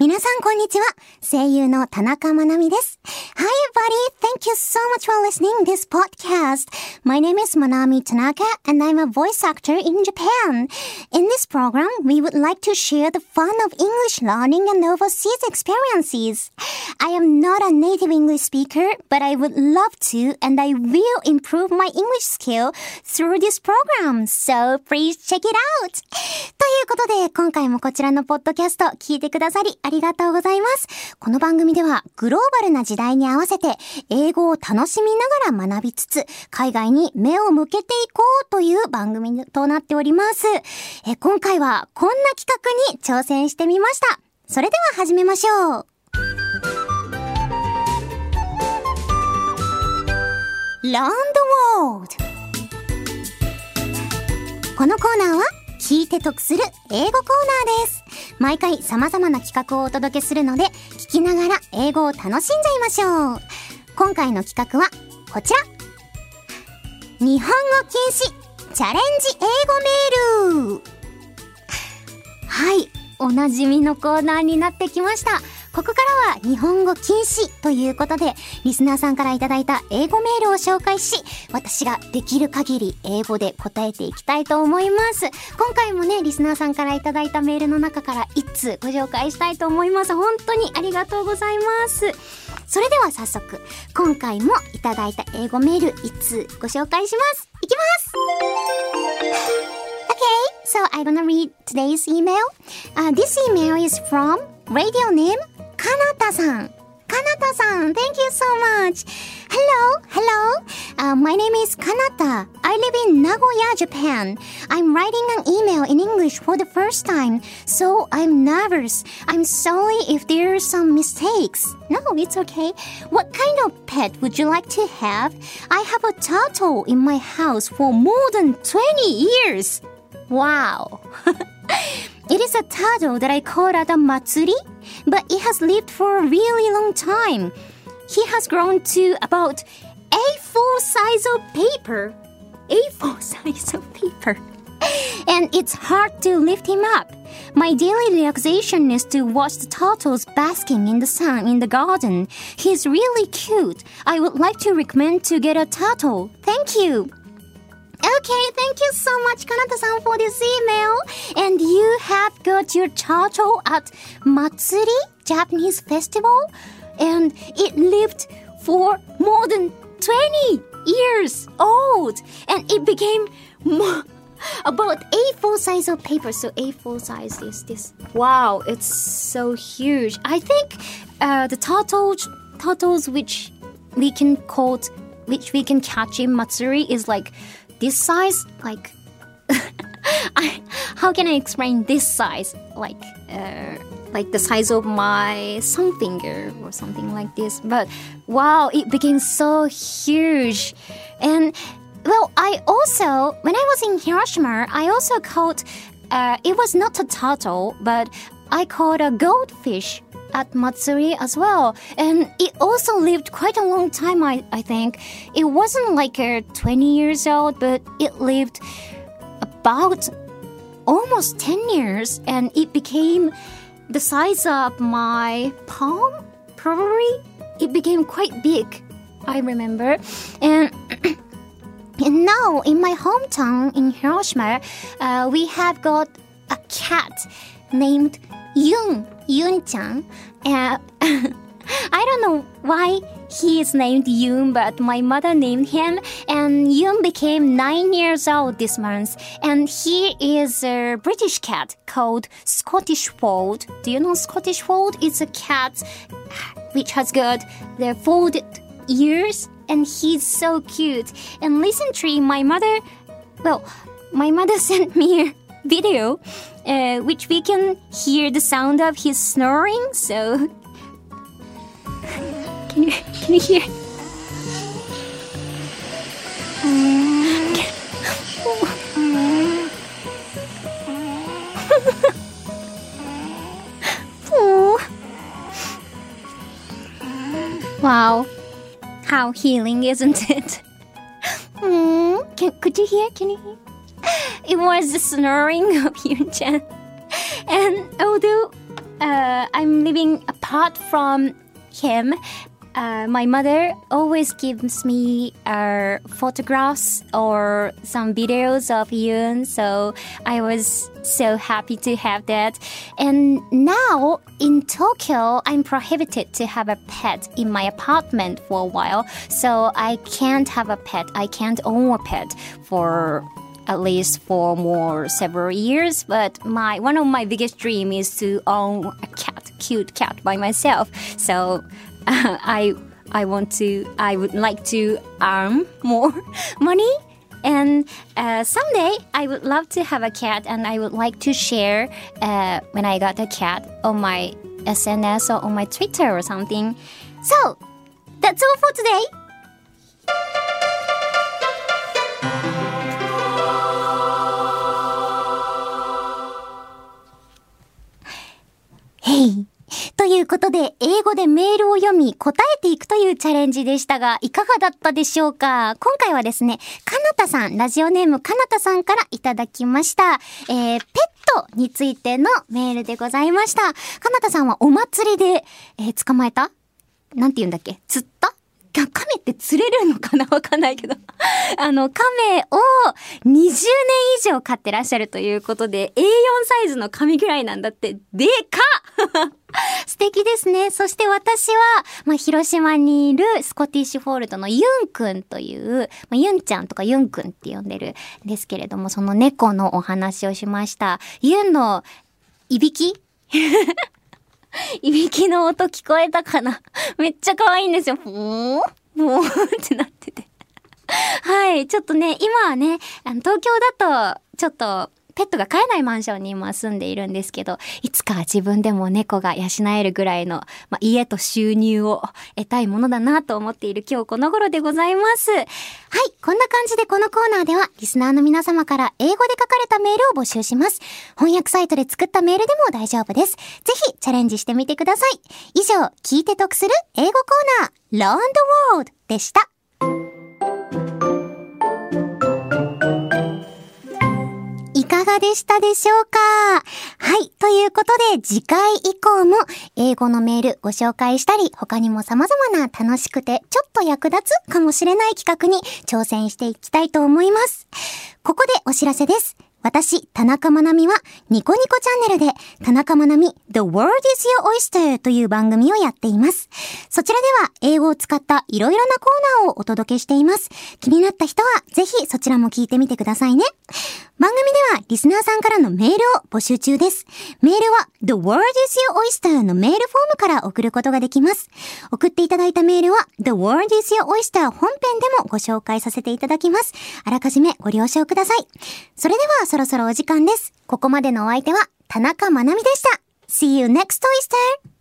皆さんこんにちは。声優の田中まなみです。Hi everybody, thank you so much for listening this podcast. My name is Manami Tanaka and I'm a voice actor in Japan. In this program, we would like to share the fun of English learning and overseas experiences. I am not a native English speaker, but I would love to and I will improve my English skill through this program. So please check it out. ということで、今回もこちらのポッドキャスト聞いてくださりありがとうございます。この番組ではグローバルな時代に合わせて英語を楽しみながら学びつつ海外に目を向けていこうという番組となっております。今回はこんな企画に挑戦してみました。それでは始めましょう。Learn the World。このコーナーは聞いて得する英語コーナーです。毎回様々な企画をお届けするので聞きながら英語を楽しんじゃいましょう。今回の企画はこちら。日本語禁止チャレンジ英語メール。はい、おなじみのコーナーになってきました。ここからは日本語禁止ということでリスナーさんからいただいた英語メールを紹介し、私ができる限り英語で答えていきたいと思います。今回もね、リスナーさんからいただいたメールの中から1通ご紹介したいと思います。本当にありがとうございます。それでは早速今回もいただいた英語メール1通ご紹介します。いきます。Okay, so I'm gonna read today's email. This email is from radio name Kanata-san. Kanata-san, thank you so much. Hello. My name is Kanata. I live in Nagoya, Japan. I'm writing an email in English for the first time, so I'm nervous. I'm sorry if there are some mistakes. No, it's okay. What kind of pet would you like to have? I have a turtle in my house for more than 20 years. Wow. It is a turtle that I caught at a matsuri, but it has lived for a really long time. He has grown to about A4 size of paper. A4 size of paper. And it's hard to lift him up. My daily relaxation is to watch the turtles basking in the sun in the garden. He's really cute. I would like to recommend to get a turtle. Thank you.Okay, thank you so much, Kanata-san, for this email. And you have got your turtle at Matsuri, Japanese festival, and it lived for more than 20 years old, and it became about A4 size of paper. So A4 size is this. Wow, it's so huge. I think the turtles which we can catch in Matsuri is like this size, like how can I explain this size? Like the size of my thumb finger or something like this. But wow, it became so huge. And well, when I was in Hiroshima, I also caught, it was not a turtle, but I caught a goldfish at Matsuri as well. And it also lived quite a long time, I think. It wasn't like 20 years old, but it lived about almost 10 years. And it became the size of my palm, probably. It became quite big, I remember. And now in my hometown in Hiroshima, we have got a cat named Yun-chan. I don't know why he is named Yun, but my mother named him, and Yun became 9 years old this month. And he is a British cat called Scottish Fold. Do you know Scottish Fold? It's a cat which has got the folded ears, and he's so cute. And recently, my mother sent me a video which we can hear the sound of his snoring. So can you hear? Wow, how healing, isn't it? Could you hear? Can you hear? It was the snoring of Yun-chan. And although I'm living apart from him. My mother always gives me photographs or some videos of Yoon, so I was so happy to have that. And now in Tokyo, I'm prohibited to have a pet in my apartment for a while, so I can't have a pet. I can't own a pet for at least for several years, but one of my biggest dream is to own a cute cat by myself. So I would like to earn more money, and someday I would love to have a cat, and I would like to share when I got a cat on my SNS or on my Twitter or something. So that's all for today. Hey!ということで、英語でメールを読み答えていくというチャレンジでしたが、いかがだったでしょうか？今回はですね、かなたさん、ラジオネームかなたさんからいただきました。ペットについてのメールでございました。かなたさんはお祭りで、捕まえた？なんて言うんだっけ？釣った？亀って釣れるのかな？わかんないけど。亀を20年以上飼ってらっしゃるということで、A4 サイズの紙ぐらいなんだって、でかっ素敵ですね。そして私は、広島にいるスコティッシュフォールドのユンくんという、ユンちゃんとかユンくんって呼んでるんですけれども、その猫のお話をしました。ユンのいびきいびきの音聞こえたかな？めっちゃ可愛いんですよ。もうってなってて。はい。ちょっとね、今はね、東京だと、ちょっと、ペットが飼えないマンションに今住んでいるんですけど、いつか自分でも猫が養えるぐらいの、家と収入を得たいものだなと思っている今日この頃でございます。はい、こんな感じでこのコーナーではリスナーの皆様から英語で書かれたメールを募集します。翻訳サイトで作ったメールでも大丈夫です。ぜひチャレンジしてみてください。以上、聞いて得する英語コーナー Learn the World でした。いかがでしたでしょうか？はい。ということで、次回以降も英語のメールご紹介したり、他にも様々な楽しくてちょっと役立つかもしれない企画に挑戦していきたいと思います。ここでお知らせです。私、田中まなみはニコニコチャンネルで田中まなみ The World is Your Oyster という番組をやっています。そちらでは英語を使ったいろいろなコーナーをお届けしています。気になった人はぜひそちらも聞いてみてくださいね。番組ではリスナーさんからのメールを募集中です。メールは The World is Your Oyster のメールフォームから送ることができます。送っていただいたメールは The World is Your Oyster 本編でもご紹介させていただきます。あらかじめご了承ください。それではそろそろお時間です。ここまでのお相手は田中まなみでした。See you next Oyster!